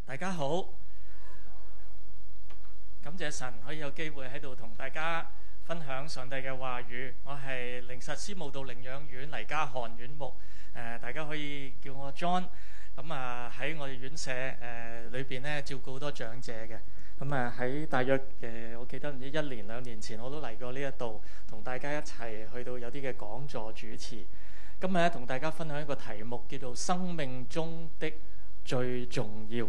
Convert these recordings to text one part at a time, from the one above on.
大家好，感謝神可以有機會喺度同大家分享上帝嘅話語。我係靈實司務道領養院黎家漢院牧，大家可以叫我 John。咁喺我哋院舍裏邊咧照顧好多長者嘅。咁喺大約我記得唔知1年2年前我都嚟過呢一度，同大家一齊去到有啲嘅講座主持。今日咧同大家分享一個題目叫做生命中的最重要。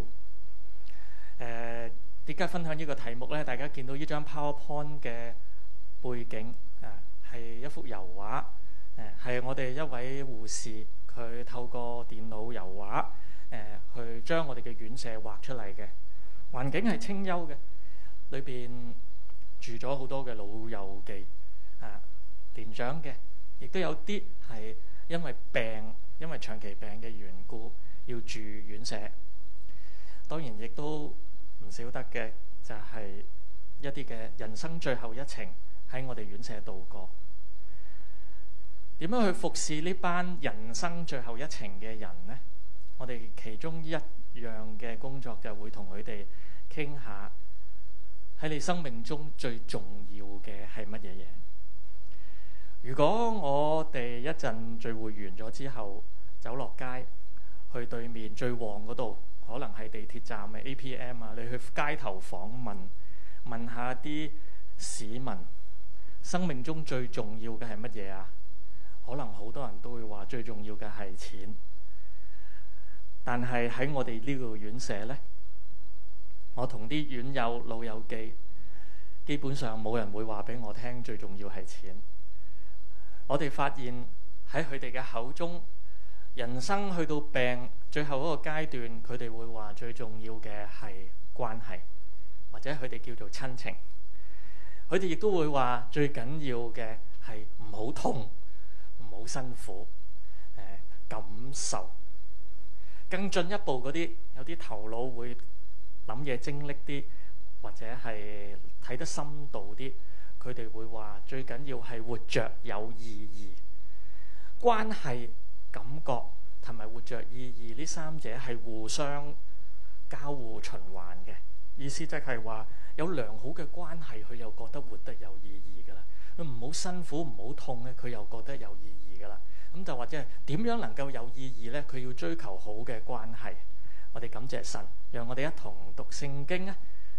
點解分享呢個題目呢？大家見到呢張 PowerPoint 嘅背景係一幅油畫，係我哋一位護士佢透過電腦油畫去將我哋嘅院舍畫出嚟嘅。環境係清幽嘅，裏邊住咗好多嘅老友記，年長嘅，亦都有啲係因為長期病嘅緣故要住院舍。當然亦都唔少得嘅就係一啲嘅人生最後一程喺我哋院舍度過。點樣去服侍呢班人生最後一程嘅人呢？我哋其中一樣嘅工作就會同佢哋傾下，喺你生命中最重要嘅係乜嘢嘢？如果我哋一陣聚會完咗之後走落街去對面最旺嗰度，可能係地鐵站嘅 APM 你去街頭訪問下啲市民，生命中最重要嘅係乜嘢啊？可能好多人都會話最重要嘅係錢，但係喺我哋呢個院舍呢，我同啲院友老友記，基本上冇人會話俾我聽最重要係錢。我哋發現喺佢哋嘅口中，人生去到病最後嗰個階段，佢哋會話最重要嘅係關係，或者佢哋叫做親情。佢哋亦都會話最緊要嘅係唔好痛，唔好辛苦，感受。更進一步嗰啲，有啲頭腦會諗嘢精力啲，或者係睇得深度啲，佢哋會話最緊要係活着有意義。關係、感覺同埋活着意義呢三者係互相交互循環嘅。意思即係話有良好嘅關係，佢又覺得活得有意義㗎啦。佢唔好辛苦，唔好痛咧，佢又覺得有意義㗎啦。咁就或者係點樣能夠有意義呢？佢要追求好嘅關係。我哋感謝神，讓我哋一同讀聖經啊！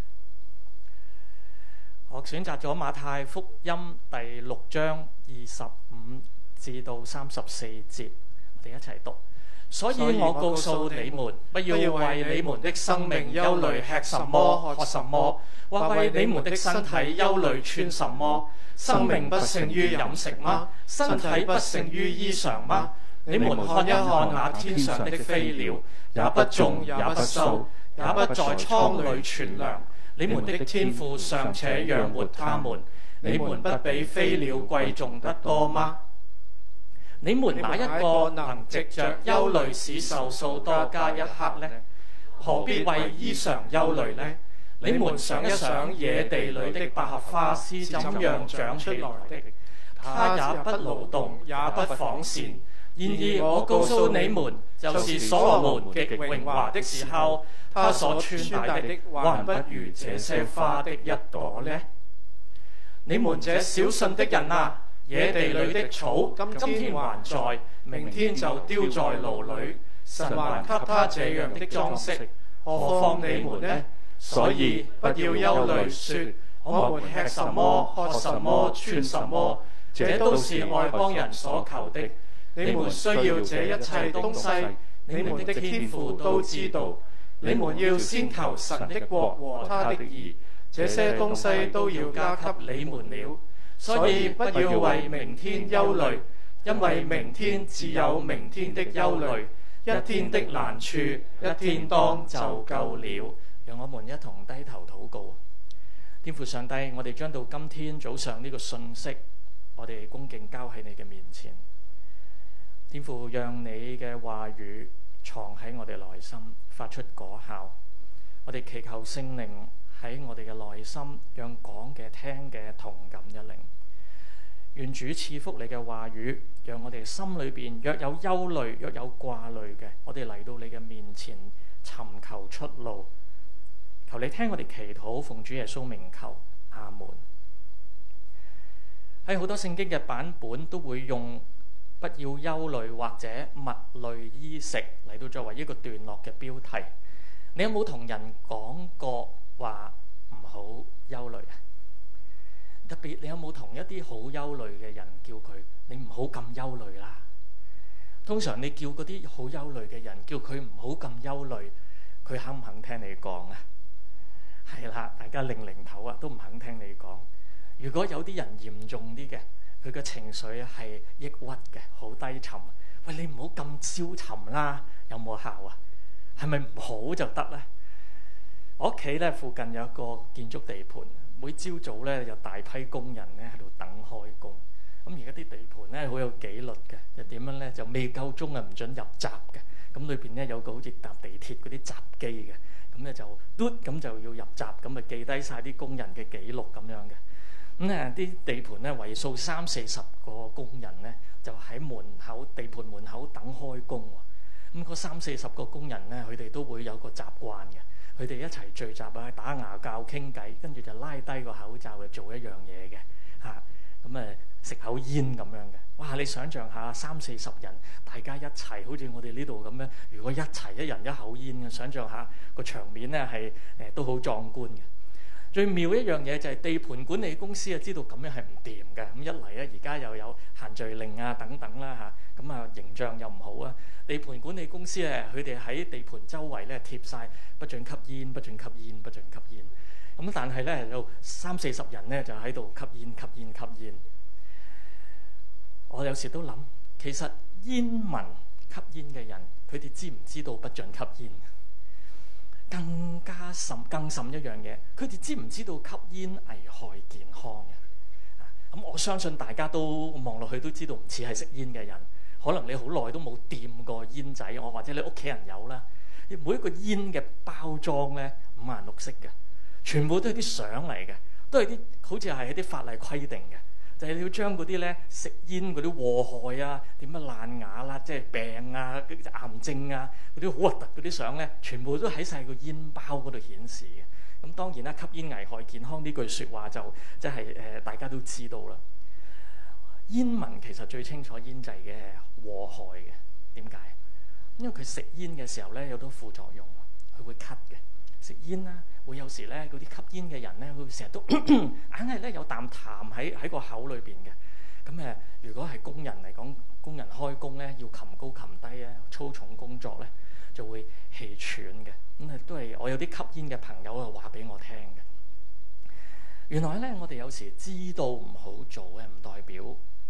我選擇咗馬太福音第6章25至到34節，我哋一齊讀。所以我告訴你們，不要為你們的生命憂慮吃什麼喝什麼，或為你們的身體憂慮穿什麼。生命不勝於飲食嗎？身體不勝於衣裳嗎？你們看一看那天上的飛鳥，也不種也不收，也不在倉裏存糧，你們的天父尚且養活他們，你們不比飛鳥貴重得多嗎？你們哪一個能藉着憂慮使壽數多加一刻呢？何必為衣�裳憂慮呢？你們想一想野地裏的百合花是怎樣長出來的，它也不勞動，也不紡線。然而我告訴你們，就是所羅門極榮華的時候，他所穿戴的還不如這些花的一朵呢。你們這小信的人啊！野地裏的草，今天還在，明天就丟在爐裏。神還給他這樣的裝飾，何況你們呢？所以不要憂慮，說我們吃什麼、喝什麼、穿什麼，這都是外邦人所求的。你們需要這一切東西，你們的天父都知道。你們要先求神的國和他的義，這些東西都要加給你們了。所以不要為明天憂慮，因為明天自有明天的憂慮，一天的難處一天當就夠了。讓我們一同低頭禱告。天父上帝，我哋將到今天早上呢個信息，我哋恭敬交喺你嘅面前。天父，讓你嘅話語藏喺我哋內心，發出果效。我哋祈求聖靈喺我哋嘅內心，讓講嘅聽嘅同感一靈。願主賜福你嘅話語，讓我哋心裏邊若有憂慮、若有掛慮嘅，我哋嚟到你嘅面前， 尋求出路。求你聽我哋祈禱，奉主耶穌名求，阿門。喺好多聖經嘅版本都會用不要憂慮或者物類衣食嚟到作為一個段落嘅標題。你有冇同人講過話唔好憂慮啊？特別你有冇同一啲好憂慮嘅人叫佢你唔好咁憂慮啦？通常你叫嗰啲好憂慮嘅人叫佢唔好咁憂慮，佢肯唔肯聽你講啊？係啦，大家擰頭啊，都唔肯聽你講。如果有啲人嚴重啲嘅，佢嘅情緒係抑鬱嘅，好低沉。喂，你唔好咁消沉啦，有冇效啊？係咪唔好就得咧？我屋企咧附近有一個建築地盤，每朝早咧有大批工人咧喺度等開工。咁而家啲地盤咧好有紀律嘅，就點樣咧？就未夠鐘啊，唔准入閘嘅。咁裏邊咧有個好似搭地鐵嗰啲閘機嘅，咁咧就嘟咁就要入閘，咁啊記低晒啲工人嘅記錄咁樣嘅。咁咧啲地盤咧為數30-40個工人咧，就喺地盤門口等開工喎。咁嗰30-40個工人咧，佢哋都會有個習慣嘅，佢哋一齊聚集啊，打牙鉸傾偈，跟住就拉低個口罩去做一樣嘢嘅嚇。咁食口煙咁樣嘅。哇！你想象下30-40人大家一齊，好似我哋呢度咁樣，如果一齊一人一口煙嘅，想象下個場面咧係都好壯觀嘅。最妙一樣嘢就係地盤管理公司啊，知道咁樣係唔掂嘅。咁一嚟咧，而家又有限聚令啊等等啦嚇，咁啊形象又唔好啊。地盤管理公司咧，佢哋喺地盤周圍咧貼晒不准吸煙、不准吸煙、不准吸煙。咁但係咧有30-40人咧就喺度吸煙、吸煙、吸煙。我有時都諗，其實煙民吸煙嘅人，佢哋知唔知道不准吸煙？更甚一樣嘢，佢哋知唔知道吸煙危害健康嘅？咁我相信大家都望落去都知道，唔似係食煙嘅人。可能你好耐都冇掂過煙仔，或者你屋企人有啦。每一個煙嘅包裝咧5顏6色嘅，全部都係啲相嚟嘅，都係啲好似係一啲法例規定嘅。就係你要將嗰啲咧食煙嗰啲禍害啊，點樣爛牙啦，即係病啊、癌症啊嗰啲好核突嗰啲相咧，全部都喺晒個煙包嗰度顯示嘅。咁當然啦，吸煙危害健康呢句説話就即係大家都知道啦。煙民其實最清楚煙仔嘅禍害嘅，點解？因為佢食煙嘅時候咧有好多副作用，佢會咳嘅。食煙啦，會有時咧嗰啲吸煙嘅人咧，佢成日都硬係咧有啖痰喺個口裏邊嘅。咁如果係工人嚟講，工人開工咧要擒高擒低咧，粗重工作咧就會氣喘嘅。咁都係我有啲吸煙嘅朋友啊話俾我聽嘅。原來咧我哋有時知道唔好做嘅，唔代表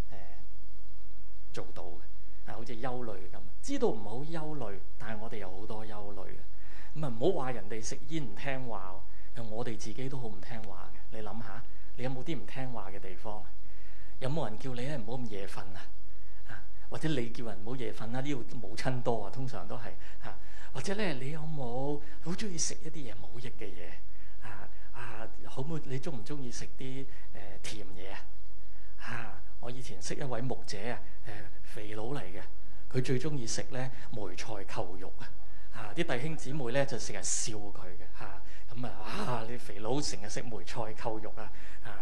做到嘅。好似憂慮咁，知道唔好憂慮，但係我哋有好多憂慮嘅。咁啊，唔好話人哋食煙唔聽話，我哋自己都好唔聽話嘅。你諗下，你有冇啲唔聽話嘅地方？有冇人叫你咧唔好咁夜瞓啊？或者你叫人唔好夜瞓啦？呢度母親多啊，通常都係嚇。或者咧，你有冇好中意食一啲嘢冇益嘅嘢？好唔好？你中唔中意食啲甜嘢啊？我以前識一位牧者啊，肥佬嚟嘅，佢最中意食咧梅菜扣肉啊！啲弟兄姊妹咧就成日笑佢嘅嚇，咁你肥佬成日食梅菜扣肉啊！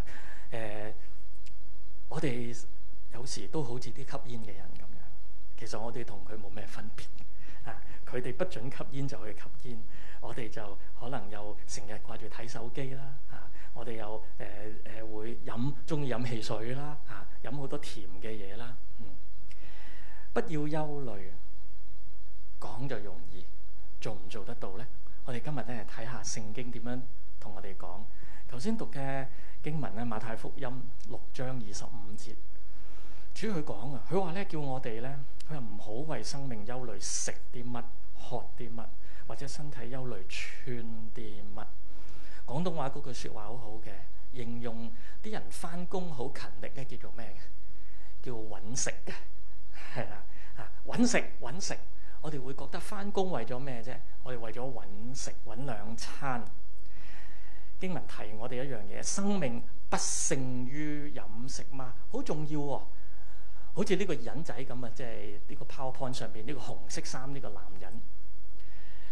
我哋有時都好似啲吸煙嘅人咁樣，其實我哋同佢冇咩分別啊！佢哋不准吸煙就去吸煙，我哋就可能又成日掛住睇手機啦嚇，我哋又會中意飲汽水啦嚇，飲好多甜嘅嘢啦。不要憂慮，講就容易，做唔做得到咧？我哋今日咧睇下聖經點樣同我哋講。頭先讀嘅經文咧，馬太福音6章25節，主佢講啊，佢話咧叫我哋咧，佢話唔好為生命憂慮，食啲乜、喝啲乜，或者身體憂慮穿啲乜。廣東話嗰句説話好好嘅，形容啲人返工好勤力咧，叫做咩嘅？叫揾食嘅，係啦揾食。我哋會覺得返工為咗咩啫？我哋為咗揾食，揾兩餐。經文提我哋一樣嘢，生命不勝於飲食嘛，好重要喎。好似呢個人仔咁啊，即係呢個 PowerPoint 上邊呢個紅色衫呢個男人，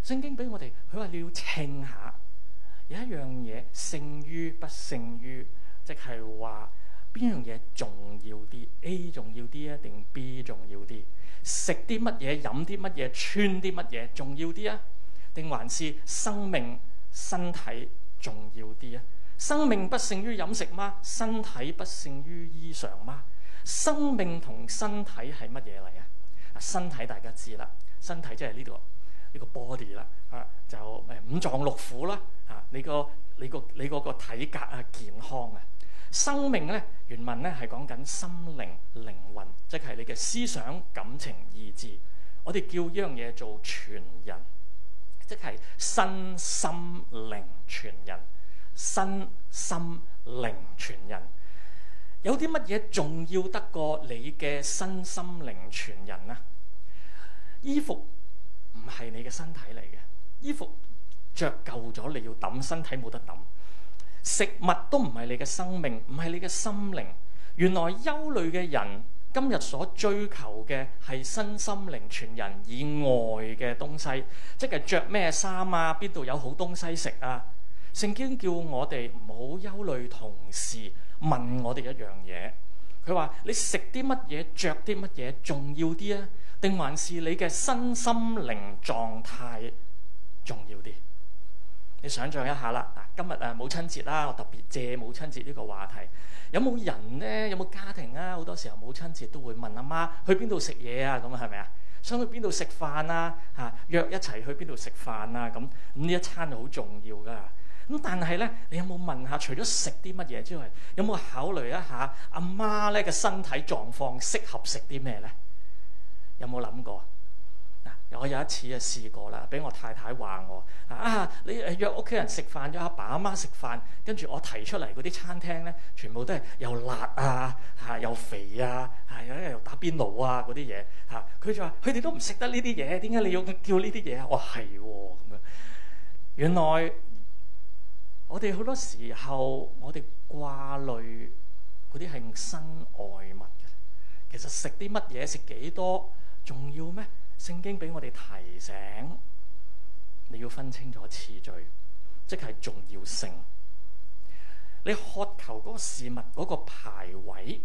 聖經俾我哋，佢話你要稱下，有一樣嘢勝於不勝於，即係話邊樣嘢重要啲 ？A 重要啲啊，定 B 重要啲？食啲乜嘢，飲啲乜嘢，穿啲乜嘢重要啲啊？定還是生命身體重要啲啊？生命不勝於飲食嗎？身體不勝於衣裳嗎？生命同身體係乜嘢嚟啊？身體大家知啦，身體即係呢個 body 啦，就五臟六腑啦，你個體格啊，健康啊。生命咧，原文咧係講緊心靈靈魂，即係你嘅思想感情意志。我哋叫呢樣嘢做全人，即係身心靈全人。身心靈全人，有啲乜嘢重要得過你嘅身心靈全人啊？衣服唔係你嘅身體嚟嘅，衣服着夠咗你要抌，身體冇得抌。食物都唔係你嘅生命，唔係你嘅心靈。原來憂慮嘅人今日所追求嘅係身心靈全人以外嘅東西，即係着咩衫啊，邊度有好東西食啊。聖經叫我哋唔好憂慮同時問我哋一樣嘢，佢話你食啲乜嘢，着啲乜嘢重要啲啊？定還是你嘅身心靈狀態重要啲？你想象一下啦，今日母親節啦，我特別借母親節呢個話題。有冇人呢？有冇家庭啊？好多時候母親節都會問阿媽去邊度食嘢啊？咁係咪啊？想去邊度食飯啊？約一齊去邊度食飯啊？咁呢一餐好重要㗎。咁但係咧，你有冇問下？除咗食啲乜嘢之外，有冇考慮一下阿媽咧嘅身體狀況適合食啲咩咧？有冇諗過？我有一次試過啦，俾我太太話我你約屋企人食飯，約阿爸阿媽食飯，跟住我提出嚟嗰啲餐廳咧，全部都係又辣啊，又肥啊，又打邊爐啊嗰啲嘢嚇。佢就話：佢哋都唔食得呢啲嘢，點解你要叫呢啲嘢啊？我話係喎咁樣。原來我哋好多時候，我哋掛慮嗰啲係身外物嘅。其實食啲乜嘢，食幾多重要咩？聖經俾我哋提醒，你要分清楚次序，即係重要性。你渴求嗰個事物嗰個排位，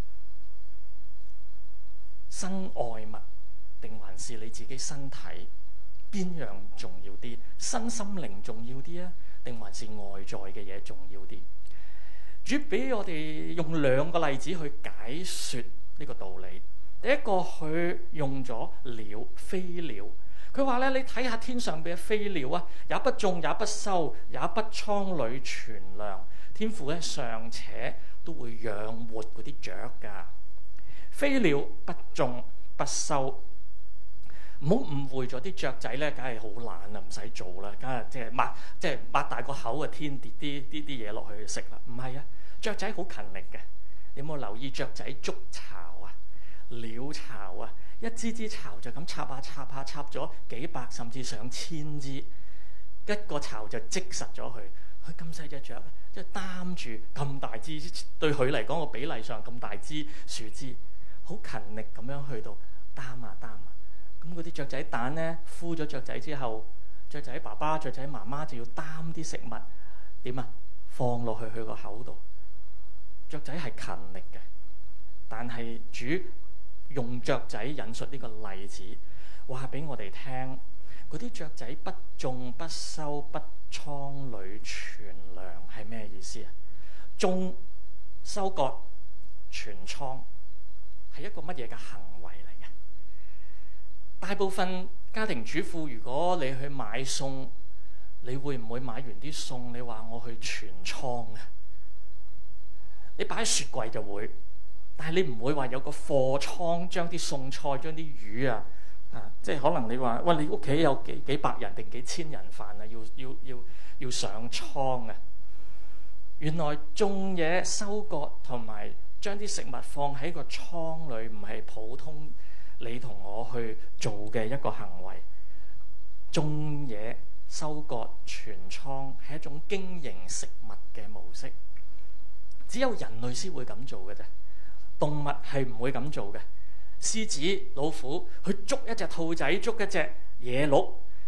身外物定還是你自己身體，邊樣重要啲？身心靈重要啲啊，定還是外在嘅嘢重要啲？主俾我哋用兩個例子去解說呢個道理。第一個佢用咗鳥，飛鳥。佢話咧，你睇下天上邊嘅飛鳥啊，也不種也不收，也不倉裏存糧，天父咧尚且都會養活嗰啲雀噶。飛鳥不種不收，唔好誤會咗啲雀仔咧，梗係好懶啊，唔使做啦，梗係即係擘大個口啊，天跌啲嘢落去食啦。唔係啊，雀仔好勤力嘅。你有冇留意雀仔築巢啊？鳥巢啊，一支支巢就咁插咗幾百甚至上千支，一個巢就積實咗佢。佢咁細隻雀，即係擔住咁大支，對佢嚟講個比例上咁大支樹枝，好勤力咁樣去到擔啊。咁嗰啲雀仔蛋咧，孵咗雀仔之後，雀仔爸爸、雀仔媽媽就要擔啲食物點啊，放落去佢個口度。雀仔係勤力嘅，但係主用雀仔引述呢個例子，話俾我哋聽，嗰啲雀仔不種不收不倉裏存糧係咩意思啊？種、收割、存倉係一個乜嘢嘅行為嚟嘅？大部分家庭主婦，如果你去買餸，你會唔會買完啲餸，你話我去存倉啊？你擺喺雪櫃就會。但係你唔會話有個貨倉，將啲餸菜、將啲魚即係可能你話喂，你屋企有幾百人定幾千人飯啊，要上倉啊！原來種嘢、收割同埋將啲食物放喺個倉裏，唔係普通你同我去做嘅一個行為。種嘢、收割、存倉係一種經營食物嘅模式，只有人類先會咁做嘅啫。動物係唔會咁做嘅。獅子、老虎去捉一隻兔仔，捉一隻野鹿，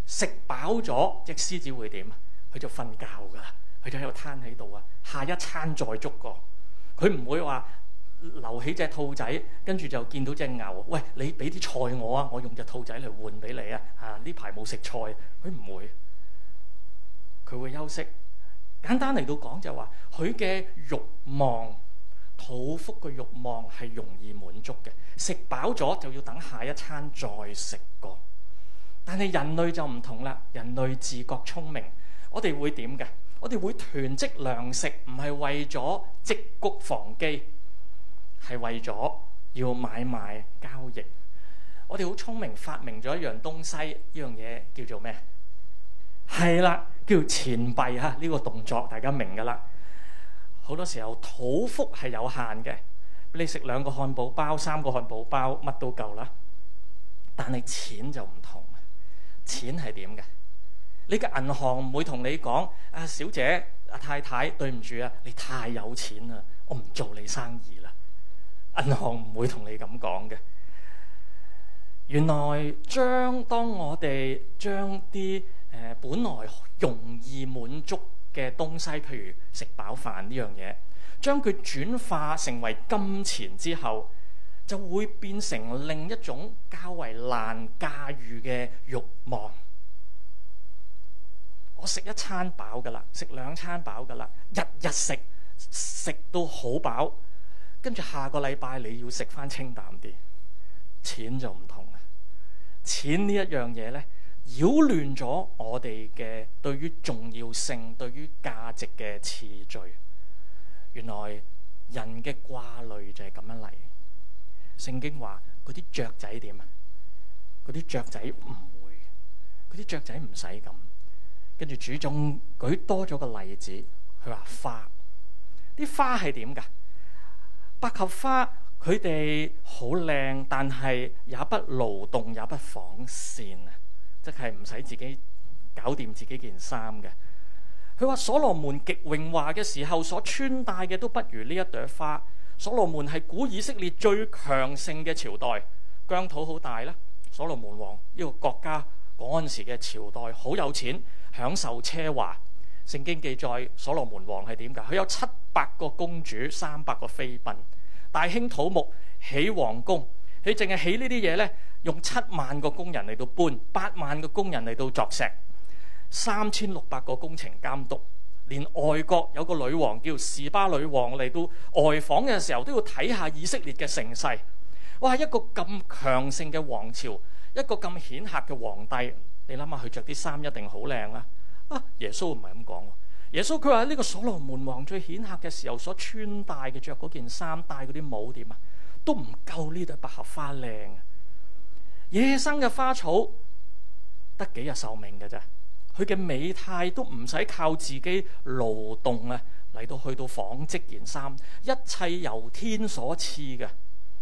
食飽咗，隻獅子會點啊？佢就瞓覺㗎啦，佢就喺度攤喺度啊，下一餐再捉過。佢唔會話留起隻兔仔，跟住就見到隻牛，喂，你俾啲菜我啊，我用隻兔仔嚟換俾你啊！呢排冇食菜，佢唔會，佢會休息。簡單嚟到講就話，佢嘅慾望，肚腹嘅慾望係容易滿足嘅，食飽咗就要等下一餐再食過。但係人類就唔同啦，人類自覺聰明，我哋會點嘅？我哋會囤積糧食，唔係為咗積谷防饑，係為咗要買賣交易。我哋好聰明，發明咗一樣東西，呢樣嘢叫做咩？係啦，叫錢幣哈！呢個動作大家明㗎啦。好多時候肚腹係有限嘅，你食2個漢堡包、3個漢堡包，乜都夠啦。但係錢就唔同，錢係點嘅？你嘅銀行唔會同你講：啊，小姐、阿太太，對唔住啊，你太有錢啦，我唔做你生意啦。銀行唔會同你咁講嘅。原來當我哋將啲本來容易滿足嘅東西，譬如食飽飯呢樣嘢，將佢轉化成為金錢之後，就會變成另一種較為難駕馭嘅慾望。我食一餐飽㗎啦，食2餐飽㗎啦，日日食到好飽，跟住下個禮拜你要食返清淡啲。錢就唔同啦，錢呢一樣嘢呢，擾亂咗我哋嘅對於重要性、對於價值嘅次序。原來人嘅掛慮就係咁樣嚟。聖經話嗰啲雀仔點啊？嗰啲雀仔唔會，嗰啲雀仔唔使咁。跟住主仲舉多咗個例子，佢話花，啲花係點㗎？百合花佢哋好靚，但係也不勞動，也不紡線啊，即係唔使自己搞掂自己件衫嘅。佢話所羅門極榮華嘅時候所穿戴嘅都不如呢一朵花。所羅門係古以色列最強盛嘅朝代，疆土好大啦。所羅門王呢個國家嗰陣時嘅朝代好有錢，享受奢華。聖經記載所羅門王係點㗎？佢有700個公主，300個妃嬪，大興土木起皇宮。佢淨係起呢啲嘢呢，用7萬個工人嚟到搬，8萬個工人嚟到鑿石，3600個工程監督。連外國有個女王叫示巴女王嚟到外訪嘅時候，都要睇下以色列嘅盛世。哇！一個咁強盛嘅王朝，一個咁顯赫嘅皇帝，你諗下佢着啲衫一定好靚啦。耶穌唔係咁講。耶穌佢話呢個所羅門王最顯赫嘅時候所穿戴嘅，着嗰件衫、戴嗰啲帽點啊，都唔夠呢朵百合花靚。野生嘅花草得幾日壽命嘅咋？佢嘅美態都唔使靠自己勞動啊，嚟到去到紡織件衫，一切由天所賜嘅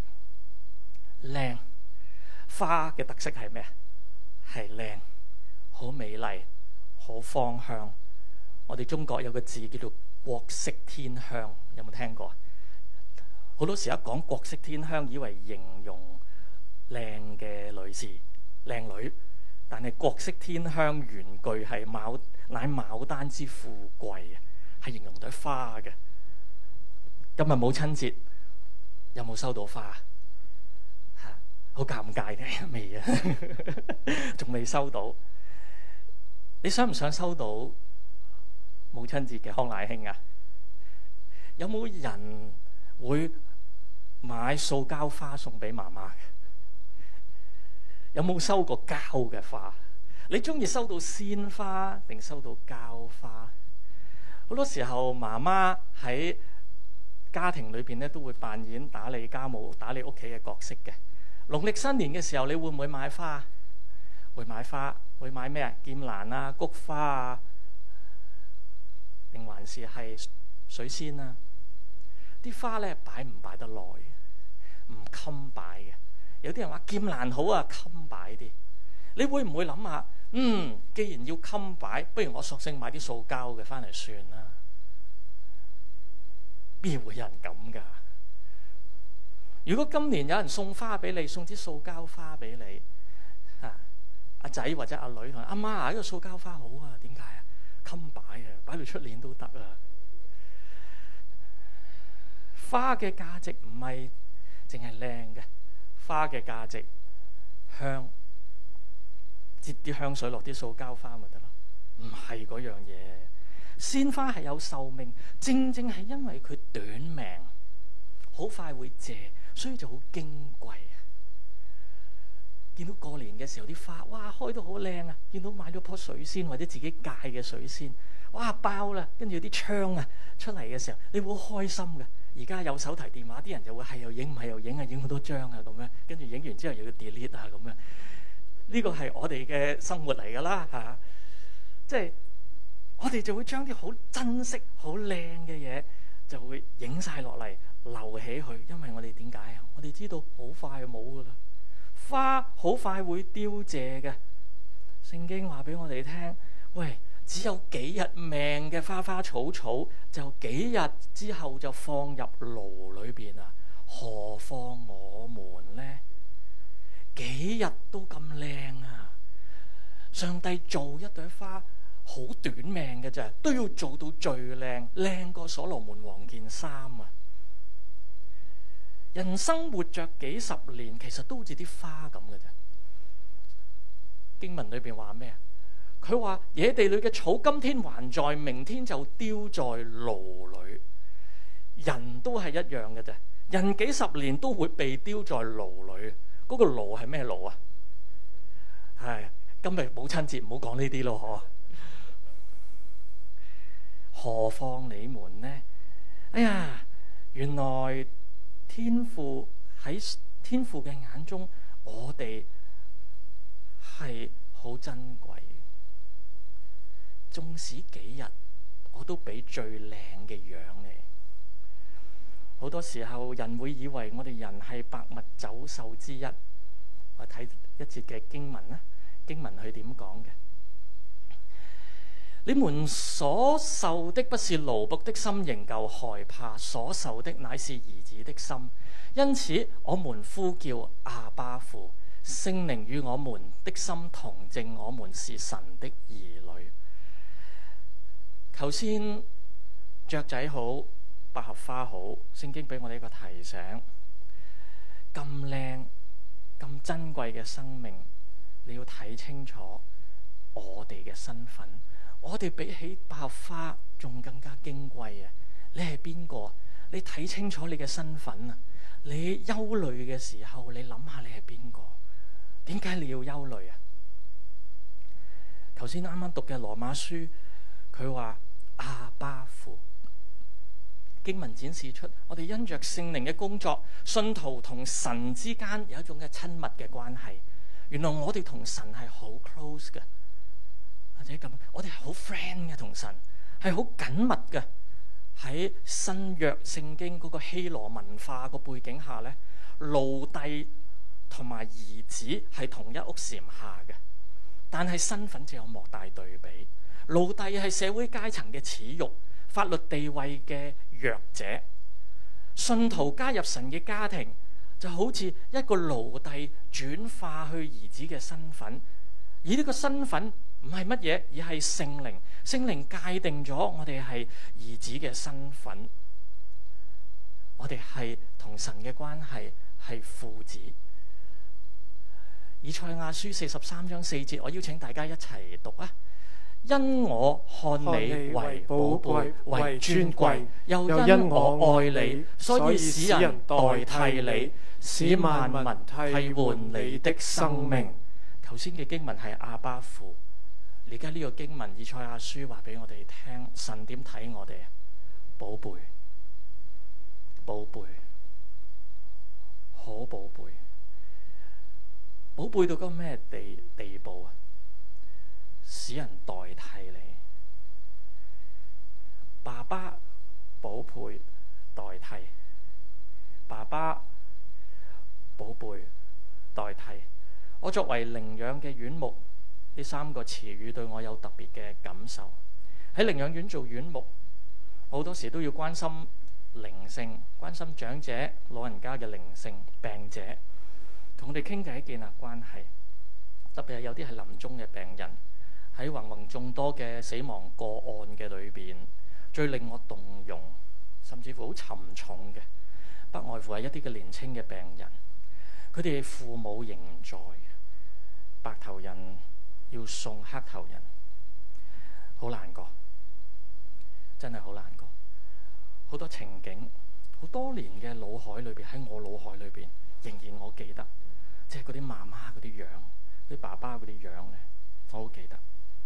靚。花嘅特色係咩？係靚，好美麗，好芳香。我哋中國有個字叫做國色天香，有冇聽過？好多時一講國色天香，以為形容靚嘅女士、靚女。但係國色天香原句係乃牡丹之富貴啊，係形容朵花嘅。今日母親節有冇收到花？好尷尬嘅，未啊？仲未收到。你想唔想收到母親節嘅康乃馨啊？有冇人會買塑膠花送俾媽媽嘅？有冇收過膠嘅花？你中意收到鮮花定收到膠花？好多時候媽媽喺家庭裏邊咧都會扮演打理家務、打理屋企嘅角色嘅。農曆新年嘅時候，你會唔會買花？會買花，會買咩啊？劍蘭啊、菊花啊，定還是係水仙啊？啲花咧擺唔擺得耐？唔襟擺嘅。有啲人話劍蘭好啊，襟擺啲。你會唔會諗下？既然要襟擺，不如我索性買啲塑膠嘅翻嚟算啦。邊會有人咁㗎？如果今年有人送花俾你，送支塑膠花俾你， 阿仔或者阿女同阿媽啊，呢個塑膠花好啊，點解啊？襟擺啊，擺到出年都得啊！花嘅價值唔係淨係靚嘅，花嘅價值香，接啲香水落啲塑膠花咪得咯，唔係嗰樣嘢。鮮花係有壽命，正正係因為佢短命，好快會謝，所以就好矜貴。見到過年嘅時候啲花，哇，開到好靚啊！見到買咗棵水仙或者自己戒嘅水仙，哇，爆啦！跟住啲槍啊出嚟嘅時候，你會好開心嘅。而家有手提電話，啲人就會係又影，唔係又影啊，影好多張啊咁樣，跟住影完之後又要 delete 啊咁樣。呢個係我哋嘅生活嚟㗎啦嚇，即係我哋就會將啲好珍惜、好靚嘅嘢就會影晒落嚟，留起佢，因為我哋點解啊？我哋知道好快就冇㗎啦，花好快會凋謝嘅。聖經話俾我哋聽，喂，只有幾日命嘅花花草草，就幾日之後就放入爐裏邊啊！何況我們呢？幾日都咁靚啊！上帝做一朵花好短命嘅啫，都要做到最靚，靚過所羅門王件衫啊！人生活着幾十年，其實都好似啲花咁嘅啫。經文裏邊話咩啊？佢話野地裏嘅草今天還在，明天就丟在爐裏。人都係一樣嘅啫，人幾十年都會被丟在爐裏。嗰個爐係咩爐啊？係今日母親節唔好講呢啲咯，何況你們呢？哎呀，原來天父喺天父嘅眼中，我哋係好珍貴。縱使幾日，我都俾最靚嘅樣你。好多時候人會以為我哋人係百物走獸之一。我睇一節嘅經文啦，經文佢點講嘅？你們所受的不是奴僕的心，仍舊害怕，所受的乃是兒子的心。因此我們呼叫阿爸父，聖靈與我們的心同證，我們是神的兒女。頭先雀仔好，百合花好，聖經俾我哋一個提醒：咁靚、咁珍貴嘅生命，你要睇清楚我哋嘅身份。我哋比起百合花仲更加矜貴啊！你係邊個？你睇清楚你嘅身份啊！你憂慮嘅時候，你諗下你係邊個？點解你要憂慮啊？頭先啱啱讀嘅羅馬書，佢話阿爸父。經文展示出我哋因着聖靈嘅工作，信徒同神之間有一種嘅親密嘅關係。原來我哋同神係好 close 嘅，或者咁，我哋係好 friend 嘅，同神係好緊密嘅。喺新約聖經嗰個希羅文化個背景下咧，奴隸同埋兒子係同一屋檐下嘅，但係身份就有莫大對比。奴隸係社會階層嘅恥辱，法律地位嘅弱者。信徒加入神嘅家庭，就好似一個奴隸轉化去兒子嘅身份。而呢個身份唔係乜嘢，而係聖靈。聖靈界定咗我哋係兒子嘅身份，我哋係同神嘅關係係父子。以賽亞書43章4節，我邀請大家一齊讀啊！因我看你為寶貝，為尊貴，又因我愛你，所以使人代替你，使萬民替換你的生命。頭先嘅經文係阿爸父，而家呢個經文以賽亞書話俾我哋聽，神點睇我哋啊？寶貝，寶貝，好寶貝，寶貝到個咩地步啊？使人代替你，爸爸寶貝代替，爸爸寶貝代替。我作為領養嘅院牧，呢三個詞語對我有特別嘅感受。喺領養院做院牧，好多時都要關心靈性，關心長者、老人家嘅靈性、病者，同佢哋傾偈建立關係。 特別係有啲係臨終嘅病人，喺芸芸眾多嘅死亡個案嘅裏邊，最令我動容，甚至乎好沉重嘅，不外乎係一啲嘅年青嘅病人，佢哋父母仍在，白頭人要送黑頭人，好難過，真係好難過。好多情景，好多年嘅腦海裏邊，喺我腦海裏邊，仍然我記得，即係嗰啲媽媽嗰啲樣，啲爸爸嗰啲樣咧，我好記得。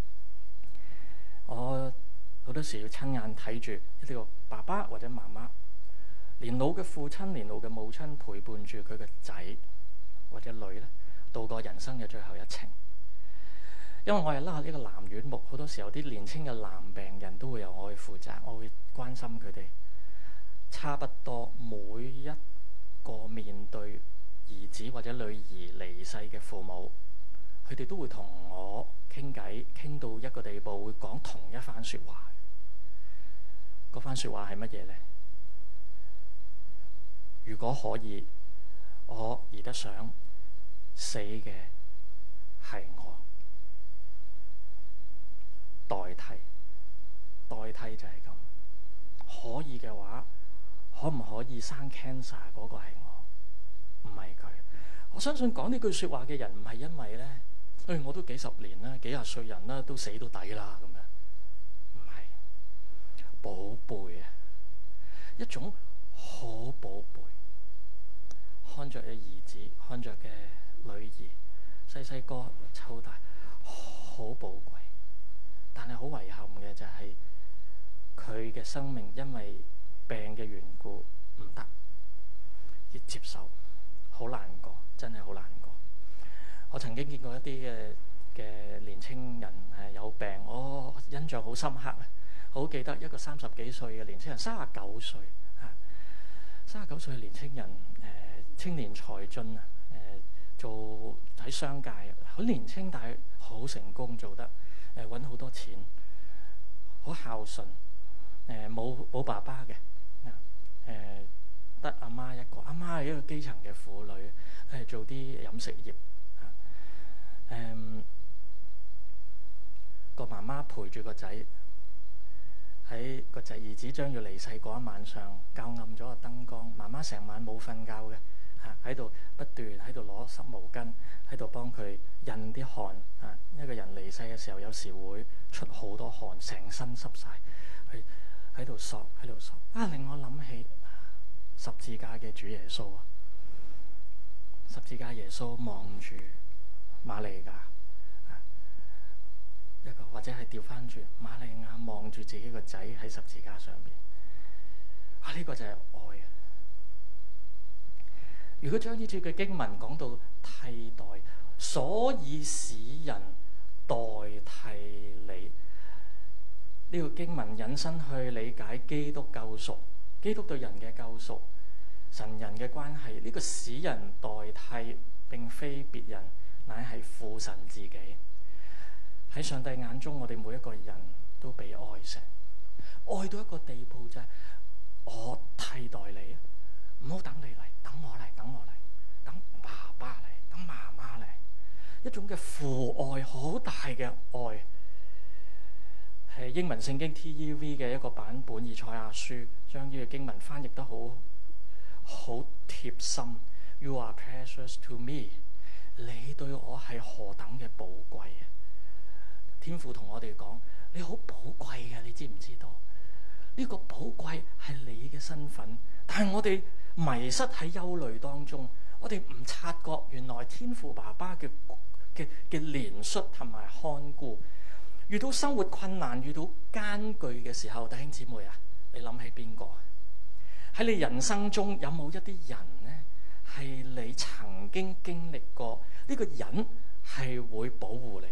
我好多時要親眼睇住呢個爸爸或者媽媽，年老嘅父親、年老嘅母親陪伴住佢嘅仔或者女咧，度過人生嘅最後一程。因為我係拉呢個男院牧，好多時候啲年輕嘅男病人都會由我去負責，我會關心佢哋。差不多每一個面對兒子或者女兒離世嘅父母，佢哋都會同我傾偈，傾到一個地步，會講同一番說話。嗰番說話係乜嘢呢？如果可以，我而得想死嘅係我，代替就係咁。可以嘅話，可唔可以生 cancer 嗰個係我，唔係佢。我相信講呢句說話嘅人唔係因為咧，我都幾十年啦，幾廿歲人啦，都死到底啦咁樣，唔係，寶貝啊，一種好寶貝，看着嘅兒子，看着嘅女兒，細細個湊大，好寶貴。但係好遺憾嘅就係佢嘅生命因為病嘅緣故唔得，要接受，好難過，真係好難過。我曾經見過一啲嘅年青人有病，我印象好深刻啊！好記得一個30幾歲嘅年青人，39歲39歲嘅年青人，青年才俊啊，做喺商界，好年青但係好成功，做得揾好多錢，好孝順，冇爸爸嘅。得阿媽一個，阿媽係一個基層嘅婦女，係做啲飲食業。個媽媽陪住個仔，喺個仔兒子將要離世嗰一晚上，校暗咗個燈光，媽媽成晚冇瞓覺嘅，喺度不斷喺度攞濕毛巾，喺度幫佢印啲汗。一個人離世嘅時候，有時會出好多汗，成身濕晒，喺度索，令我諗起十字架嘅主耶穌啊！十字架耶穌望住瑪利亞，一個或者係調翻轉，瑪利亞望住自己個仔喺十字架上邊。呢個就係愛啊！如果將呢節嘅經文講到替代，所以使人代替你，呢個經文引申去理解基督救贖，基督對人嘅救贖，神人嘅關係。呢個使人代替並非別人，乃係父神自己。喺上帝眼中，我哋每一個人都被愛成，愛到一個地步就係我替代你，唔好等你嚟，等我嚟，等爸爸嚟，等媽媽嚟，一種嘅父愛，好大嘅愛。係英文聖經 TEV 嘅一個版本，以賽亞書將呢個經文翻譯得好貼心。You are precious to me， 你對我係何等嘅寶貴啊！天父同我哋講，你好寶貴嘅，你知唔知道？呢個寶貴係你嘅身份，但係我哋迷失喺憂慮當中，我哋唔察覺原來天父爸爸嘅憐恤同埋看顧。遇到生活困難、遇到艱巨嘅時候，弟兄姊妹啊，你諗起邊個？喺你人生中有冇一啲人呢？係你曾經經歷過呢個人係會保護你？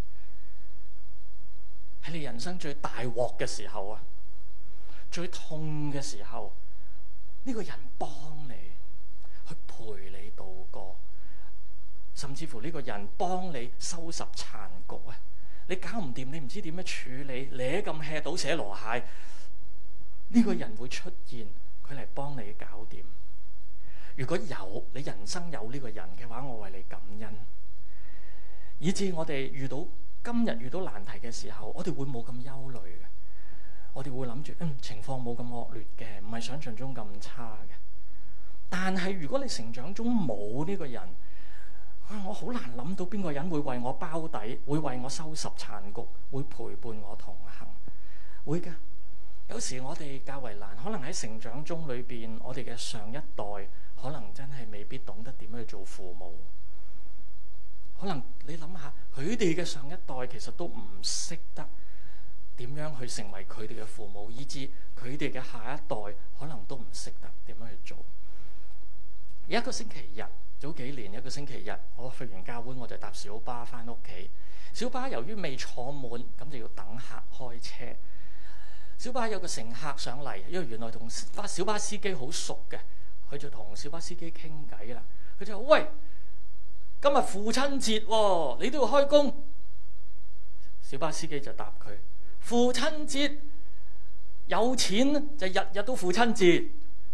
喺你人生最大鑊嘅時候啊，最痛嘅時候，呢個人幫你去陪你度過，甚至乎呢個人幫你收拾殘局啊！你搞唔掂，你唔知點樣處理，你咁 hea 倒瀉籮蟹，呢個人會出現，佢嚟幫你搞掂。如果有你人生有呢個人嘅話，我為你感恩。 以至我哋今日遇到難題嘅時候，我哋會冇咁憂慮嘅。我哋會諗住，情況冇咁惡劣嘅，唔係想象中咁差嘅。但係如果你成長中冇呢個人，我好難諗到邊個人會為我包底，會為我收拾殘局，會陪伴我同行。會㗎。有時我哋較為難，可能喺成長中裏邊，我哋嘅上一代可能真係未必懂得點樣去做父母。可能你諗下，佢哋嘅上一代其實都唔識得點樣去成為佢哋嘅父母，以至佢哋嘅下一代可能都唔識得點樣去做。有一個星期日，早幾年一個星期日，我去完教會我就搭小巴翻屋企。小巴由於未坐滿，咁就要等客開車。小巴有個乘客上嚟，因為原來同小巴司機好熟嘅，佢就同小巴司機傾偈啦。佢就話：喂，今日父親節喎，你都要開工？小巴司機就答佢：父親節有錢就日日都父親節。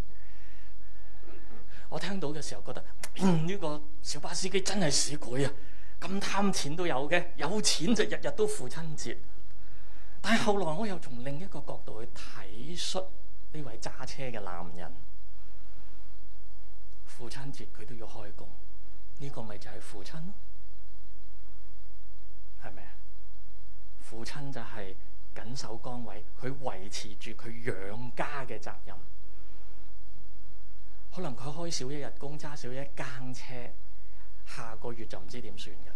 我聽到嘅時候覺得呢個小巴司機真係市儈啊！咁貪錢都有嘅，有錢就日日都父親節。但係後來我又從另一個角度去體恤呢位揸車嘅男人，父親節佢都要開工，呢個咪就係父親咯，係咪啊？父親就係緊守崗位，佢維持住佢養家嘅責任。可能佢開少一日工，揸少一更車，下個月就唔知點算㗎啦。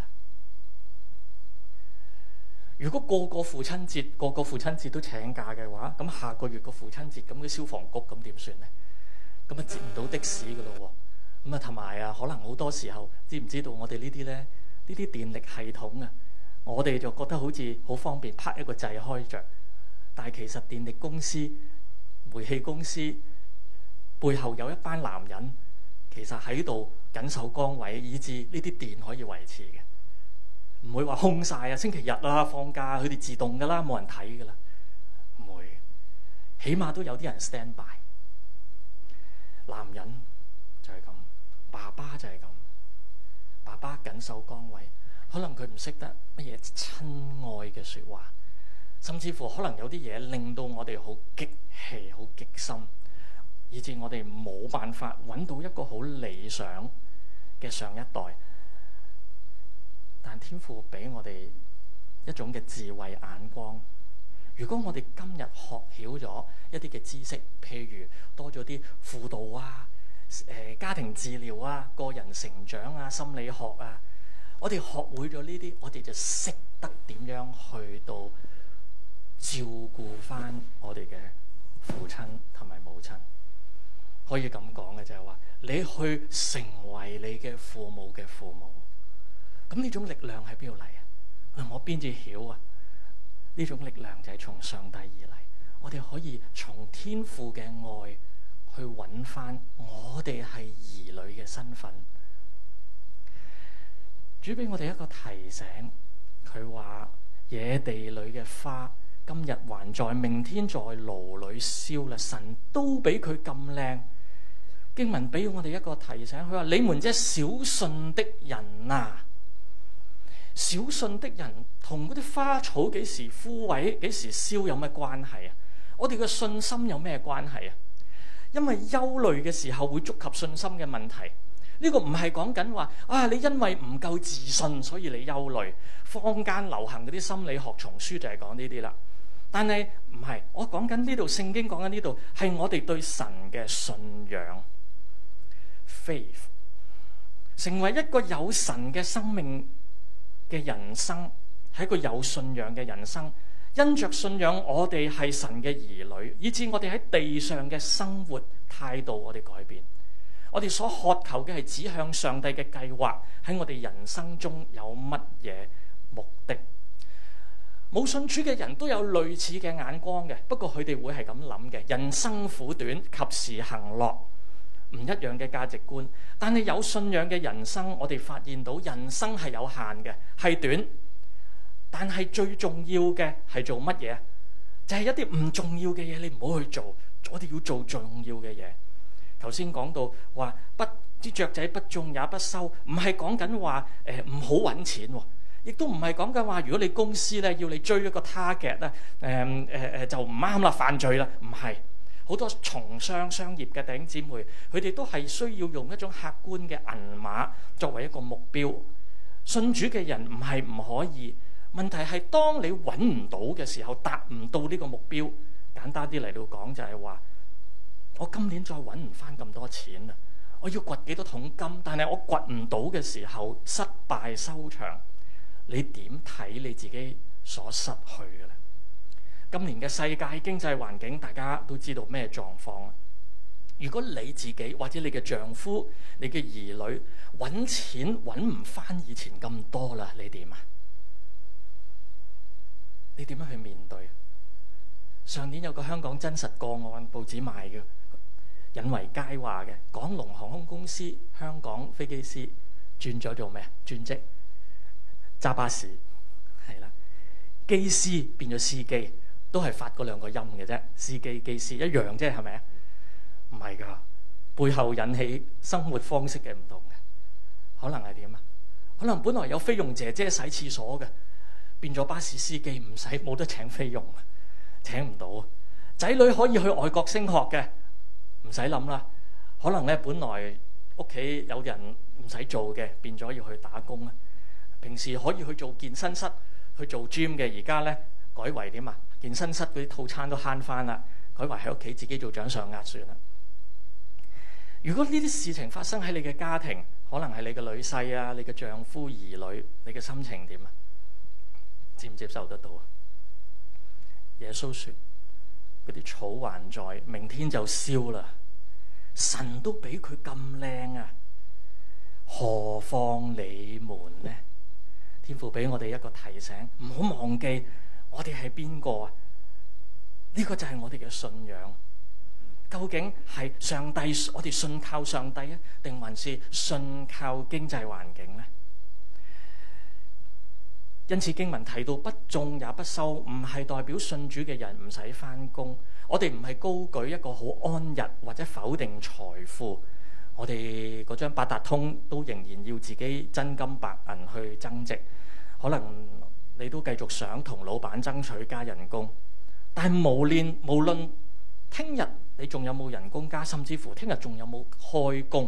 如果個個父親節都請假嘅話，咁下個月個父親節，咁啲消防局咁點算呢？咁啊接唔到的士㗎咯喎。咁啊同埋啊，可能好多時候知唔知道我哋呢啲呢啲電力系統啊，我哋就覺得好似好方便，拍一個掣開着。但係其實電力公司、煤氣公司背後有一班男人，其實喺度緊守崗位，以致呢啲電可以維持嘅。唔會話空晒啊！星期日啦，放假，佢哋自動噶啦，冇人睇噶啦，唔會。起碼都有啲人 stand by。男人就係咁，爸爸就係咁。爸爸緊守崗位，可能佢唔識得乜嘢親愛嘅説話，甚至乎可能有啲嘢令到我哋好激氣、好激心，以致我哋冇辦法揾到一個好理想嘅上一代。但天父俾我哋一種嘅智慧眼光。如果我哋今日學曉咗一啲嘅知識，譬如多咗啲輔導啊、家庭治療啊、個人成長啊、心理學啊，我哋學會咗呢啲，我哋就識得點樣去到照顧翻我哋嘅父親同埋母親。可以咁講嘅就係話，你去成為你嘅父母嘅父母。咁呢種力量喺邊度嚟啊？我邊至曉啊？呢種力量就係從上帝而嚟。我哋可以從天父嘅愛去揾翻我哋係兒女嘅身份。主俾我哋一個提醒，佢話野地裏嘅花今日還在，明天在爐裏燒啦。神都俾佢咁靚。經文俾我哋一個提醒，佢話你們這小信的人啊！小信的人同嗰啲花草幾時枯萎、幾時燒有咩關係啊？我哋嘅信心有咩關係啊？因為憂慮嘅時候會觸及信心嘅問題。呢個唔係講緊話啊，你因為唔夠自信所以你憂慮。坊間流行嗰啲心理學叢書就係講呢啲啦。但係唔係，我講緊呢度聖經講緊呢度係我哋對神嘅信仰 faith， 成為一個有神嘅生命嘅人生，係一個有信仰嘅人生。因着信仰，我哋係神嘅兒女，以致我哋喺地上嘅生活態度，我哋改變。我哋所渴求嘅係指向上帝嘅計劃，喺我哋人生中有乜嘢目的？冇信主嘅人都有類似嘅眼光嘅，不過佢哋會係咁諗嘅：人生苦短，及時行樂。唔一樣嘅價值觀，但係有信仰嘅人生，我哋發現到人生係有限嘅，係短，但係最重要嘅係做乜嘢？就係一啲唔重要嘅嘢，你唔好去做，我哋要做重要嘅嘢。頭先講到話啲雀仔不種也不收，唔係講緊話唔好揾錢， 亦都唔係講緊話，如果你公司咧要你追一個 target 咧，就唔啱啦，犯罪啦，唔係。好多從商業嘅弟兄姊妹，佢哋都係需要用一種客觀嘅銀碼作為一個目標。信主嘅人唔係唔可以，問題係當你揾唔到嘅時候，達唔到呢個目標。簡單啲嚟到講就係話，我今年再揾唔翻咁多錢啦，我要掘幾多桶金，但係我掘唔到嘅時候，失敗收場。你點睇你自己所失去嘅咧？今年嘅世界經濟環境，大家都知道咩狀況。如果你自己或者你嘅丈夫、你嘅兒女揾錢揾唔翻以前咁多啦，你點啊？你點樣去面對？上年有個香港真實個案，報紙賣嘅，引為佳話嘅，港龍航空公司香港飛機師轉咗做咩啊？轉職揸巴士，係啦，機師變咗司機。都係發嗰兩個音嘅啫，司機機師一樣啫，係咪啊？唔係噶，背後引起生活方式嘅唔同嘅，可能係點啊？可能本來有菲傭姐姐洗廁所嘅，變咗巴士司機，唔使冇得請菲傭，請唔到。仔女可以去外國升學嘅，唔使諗啦。可能咧本來屋企有人唔使做嘅，變咗要去打工啊。平時可以去做健身室去做 gym 嘅，而家咧改為點啊？健身室嗰啲套餐都慳翻啦，改為喺屋企自己做掌上壓算啦。如果呢啲事情發生喺你嘅家庭，可能係你嘅女婿啊、你嘅丈夫、兒女，你嘅心情點啊？接唔接受得到啊？耶穌說：嗰啲草還在，明天就燒啦。神都俾佢咁靚啊，何況你們呢？天父俾我哋一個提醒，唔好忘記。我哋係邊個啊？呢個就係我哋嘅信仰。究竟係上帝，我哋信靠上帝啊，定還是信靠經濟環境呢？因此經文提到不種也不收，唔係代表信主嘅人唔使返工。我哋唔係高舉一個好安逸或者否定財富。我哋嗰張八達通都仍然要自己真金白銀去增值。可能你都繼續想同老闆爭取加人工，但係無論聽日你仲有冇人工加，甚至乎聽日仲有冇開工，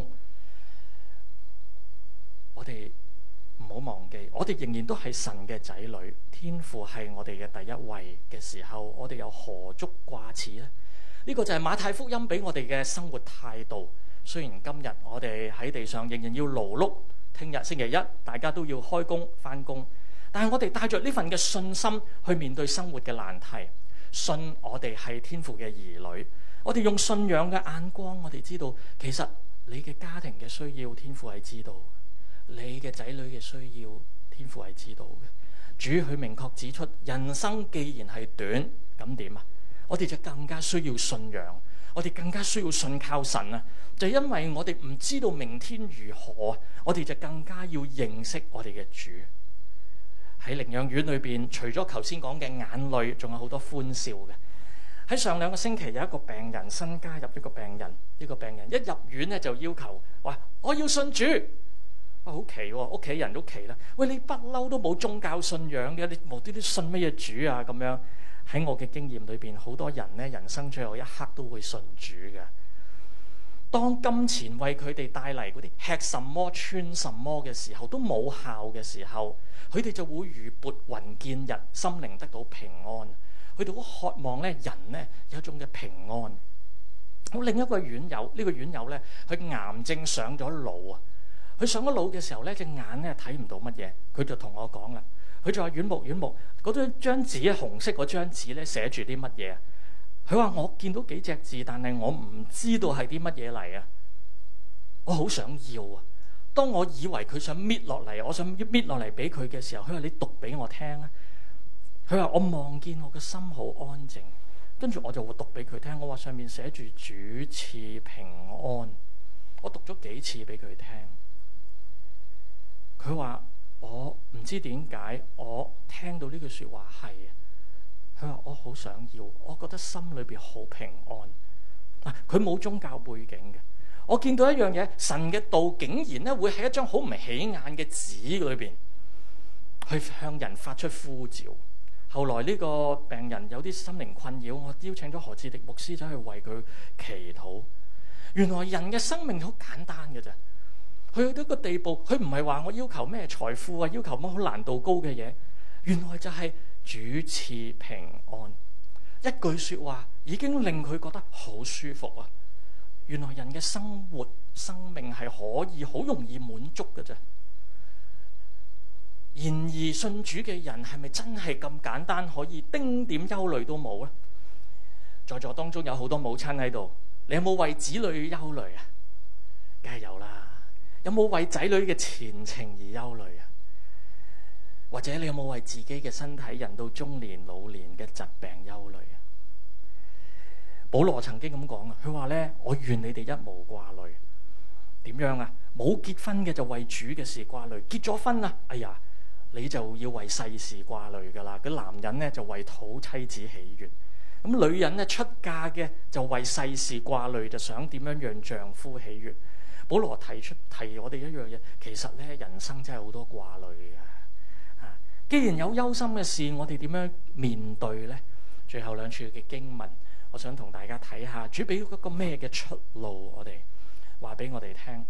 我哋唔好忘記，我哋仍然都係神嘅仔女，天父係我哋嘅第一位嘅時候，我哋又何足掛齒呢？呢個就係馬太福音俾我哋嘅生活態度。雖然今日我哋喺地上仍然要勞碌，聽日星期一大家都要開工返工。但係我哋帶着呢份嘅信心去面對生活嘅難題，信我哋係天父嘅兒女，我哋用信仰嘅眼光，我哋知道其實你嘅家庭嘅需要，天父係知道；你嘅仔女嘅需要，天父係知道嘅。主佢明確指出，人生既然係短，咁點啊？我哋就更加需要信仰，我哋更加需要信靠神啊！就因為我哋唔知道明天如何，我哋就更加要認識我哋嘅主。喺靈養院裏邊，除咗頭先講嘅眼淚，仲有好多歡笑嘅。喺上2個星期，有一個病人新加入一個病人，呢個病人一入院咧就要求話：我要信主。哇，好奇喎！屋企人都奇啦。喂，你不嬲都冇宗教信仰嘅，你無端端信乜嘢主啊？咁樣喺我嘅經驗裏邊，好多人咧人生最後一刻都會信主嘅。當金錢為佢哋帶嚟嗰啲吃什麼穿什麼嘅時候，都冇效嘅時候，佢哋就會如撥雲見日，心靈得到平安。佢哋好渴望咧，人咧有一種嘅平安。好，另一個院友，呢個院友咧，佢癌症上咗腦啊！佢上咗腦嘅時候咧，隻眼咧睇唔到乜嘢，佢就同我講啦。佢就話：院牧，嗰張紙紅色嗰張紙咧，寫住啲乜嘢？佢話：我見到幾隻字，但係我唔知道係啲乜嘢嚟啊！我好想要啊！當我以為佢想搣落嚟，我想搣落嚟俾佢嘅時候，佢話：你讀俾我聽啊！佢話：我望見我嘅心好安靜，跟住我就會讀俾佢聽。我話上面寫住主賜平安，我讀咗幾次俾佢聽。佢話：我唔知點解，我聽到呢句説話係。佢話：我好想要，我覺得心裏邊好平安。佢冇宗教背景嘅，我見到一樣嘢，神嘅道竟然咧會喺一張好唔起眼嘅紙裏邊去向人發出呼召。後來呢個病人有啲心靈困擾，我邀請咗何志迪牧師走去為佢祈禱。原來人嘅生命好簡單嘅啫，去到一個地步，佢唔係話我要求咩財富啊，要求乜好難度高嘅嘢，原來就係主賜平安。一句說話已經令佢覺得好舒服啊！原來人嘅生活生命係可以好容易滿足嘅啫。然而信主嘅人係咪真係咁簡單可以丁點憂慮都冇呢？在座當中有好多母親喺度，你有冇為子女憂慮啊？梗係有啦。有冇為仔女嘅前程而憂慮啊？或者你有冇為自己嘅身體人到中年老年嘅疾病憂慮啊？保羅曾經咁講啊，佢話咧：我願你哋一無掛慮。點樣啊？冇結婚嘅就為主嘅事掛慮，結咗婚啊，哎呀，你就要為世事掛慮噶啦。嗰男人咧就為討妻子喜悅，咁女人咧出嫁嘅就為世事掛慮，就想點樣讓丈夫喜悅。保羅提我哋一樣嘢，其實咧人生真係好多掛慮嘅。既然有憂心嘅事，我哋點樣面對呢？最後兩處嘅經文，我想同大家睇下，主俾咗一個咩嘅出路，我哋話俾我哋聽。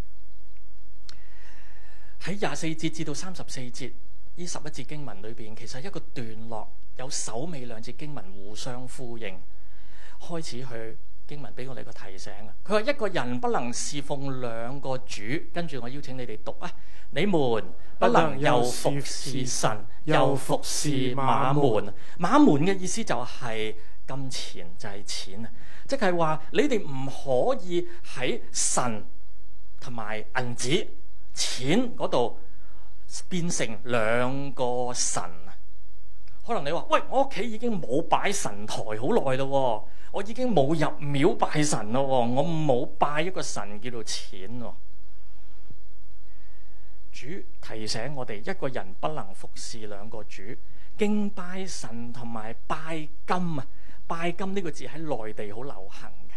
喺24節至到34節呢11節經文裏邊，其實一個段落有首尾兩節經文互相呼應。開始去經文俾我哋個提醒啊！佢話一個人不能侍奉兩個主，跟住我邀請你哋讀啊！你們不能又服侍神，又服侍馬門。馬門嘅意思就係金錢，就係錢啊！即係話你哋唔可以喺神同埋銀紙錢嗰度變成兩個神啊！可能你話：喂，我屋企已經冇擺神台好耐咯，我已經冇入廟拜神咯，我冇拜一個神叫做錢。主提醒我哋，一個人不能服侍兩個主，敬拜神同埋拜金啊！拜金呢個字喺內地好流行嘅，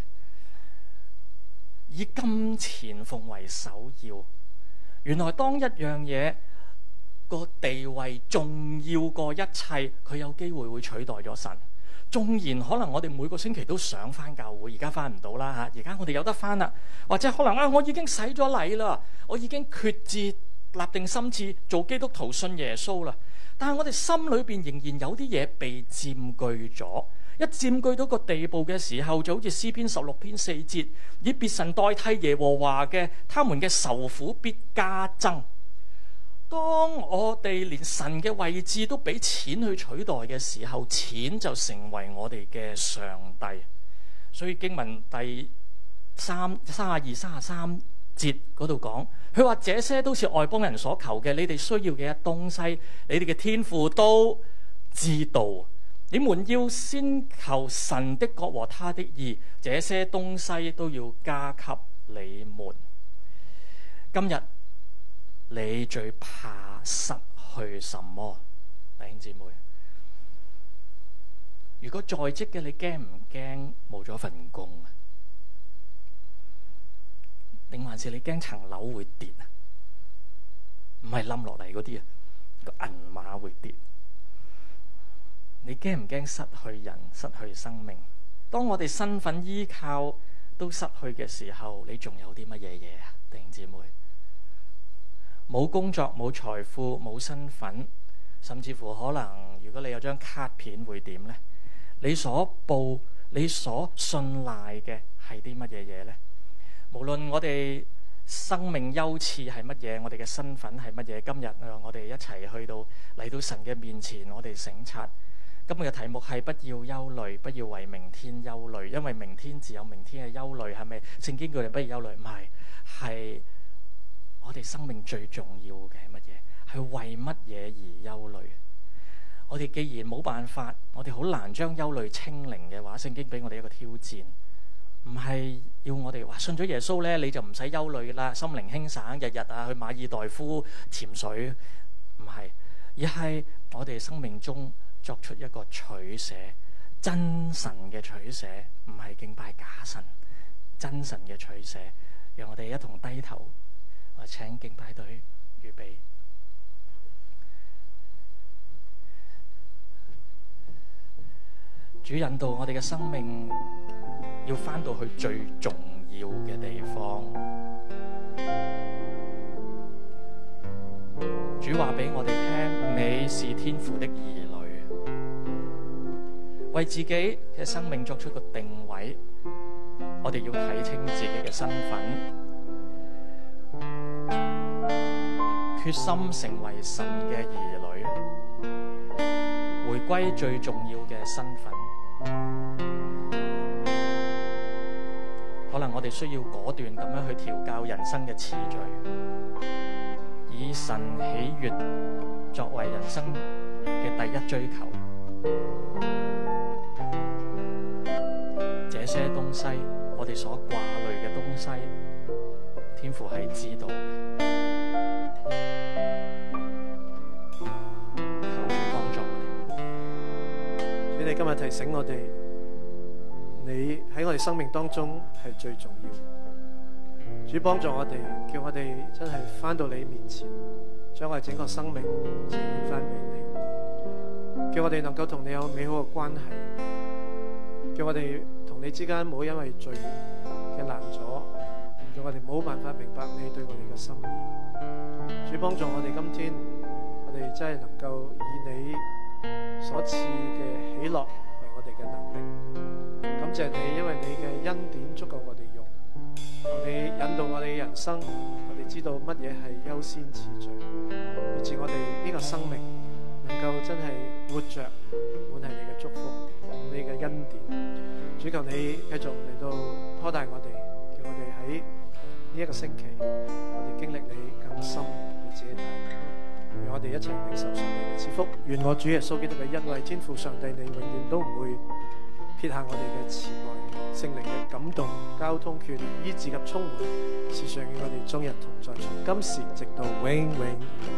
以金錢奉為首要。原來當一樣嘢個地位重要過一切，佢有機會會取代咗神。縱然可能我哋每個星期都想返教會，而家返唔到啦嚇。而家我哋有得返啦，或者可能我已經洗咗禮啦，我已經決志立定心志做基督徒信耶穌啦。但係我哋心裏邊仍然有啲嘢被佔據咗。一佔據到個地步嘅時候，就好似詩篇16篇4節，以別神代替耶和華嘅，他們嘅愁苦必加增。當我哋連神嘅位置都俾錢去取代嘅時候，錢就成為我哋嘅上帝。所以經文第32、33節嗰度講，佢話這些都是外邦人所求嘅，你哋需要嘅東西，你哋嘅天父都知道。你們要先求神的國和他的義，這些東西都要加給你們。今日你最怕失去什麼？弟兄姊妹，如果在職嘅，你驚唔驚冇咗份工啊？定還是你驚層樓會跌啊？唔係冧落嚟嗰啲啊，個銀碼會跌。你驚唔驚失去人、失去生命？當我哋身份依靠都失去嘅時候，你仲有啲乜嘢嘢啊？弟兄姊妹，冇工作、冇財富、冇身份，甚至乎可能如果你有張卡片會點呢？你所報、你所信賴嘅係啲乜嘢嘢呢？無論我哋生命優次係乜嘢，我哋嘅身份係乜嘢，今日我哋一齊去到嚟到神嘅面前，我哋省察。今日嘅題目係不要憂慮，不要為明天憂慮，因為明天自有明天嘅憂慮。係咪聖經叫你不要憂慮？唔係，係我哋生命最重要嘅係乜嘢？係為乜嘢而憂慮？我哋既然冇辦法，我哋好難將憂慮清零嘅話，聖經俾我哋一個挑戰，唔係要我哋話信咗耶穌咧，你就唔使憂慮啦，心靈輕省，日日啊去馬爾代夫潛水，唔係，而係我哋生命中作出一個取捨，真神嘅取捨，唔係敬拜假神，真神嘅取捨。讓我哋一同低頭，我請敬拜隊預備。 主引導我哋嘅生命要返到去最重要嘅地方。主話俾我哋聽，你是天父的兒女，為自己嘅生命作出個定位。我哋要睇清自己嘅身份，決心成為神嘅兒女，回歸最重要嘅身份。可能我哋需要果斷咁樣去調校人生嘅次序，以神喜悅作為人生嘅第一追求。這些東西，我哋所掛慮嘅東西，天父係知道嘅。求主幫助我哋。 主，你今日提醒我哋，你喺我哋生命當中係最重要。主幫助我哋，叫我哋真係返到你面前，將我哋整個生命呈現返俾你，叫我哋能夠同你有美好嘅關係，叫我哋同你之間冇因為罪嘅攔阻，叫我哋冇辦法明白你對我哋嘅心意。主幫助我哋，今天我哋真係能夠以你所賜嘅喜樂為我哋嘅能力。感謝你，因為你嘅恩典足夠我哋用，你引導我哋嘅人生，我哋知道乜嘢係優先次序，以致我哋呢個生命能夠真係活着，滿係你嘅祝福，你嘅恩典。主求你繼續嚟到拖帶我哋，叫我哋喺呢一個星期，我哋經歷你更深你自己帶領，讓我哋一齊領受上帝嘅賜福。願我主耶穌基督嘅恩惠，天父上帝你永遠都唔會撇下我哋嘅慈愛，聖靈嘅感動、交通、勸勉、醫治及充滿，時常與我哋終日同在，從今時直到永永遠遠。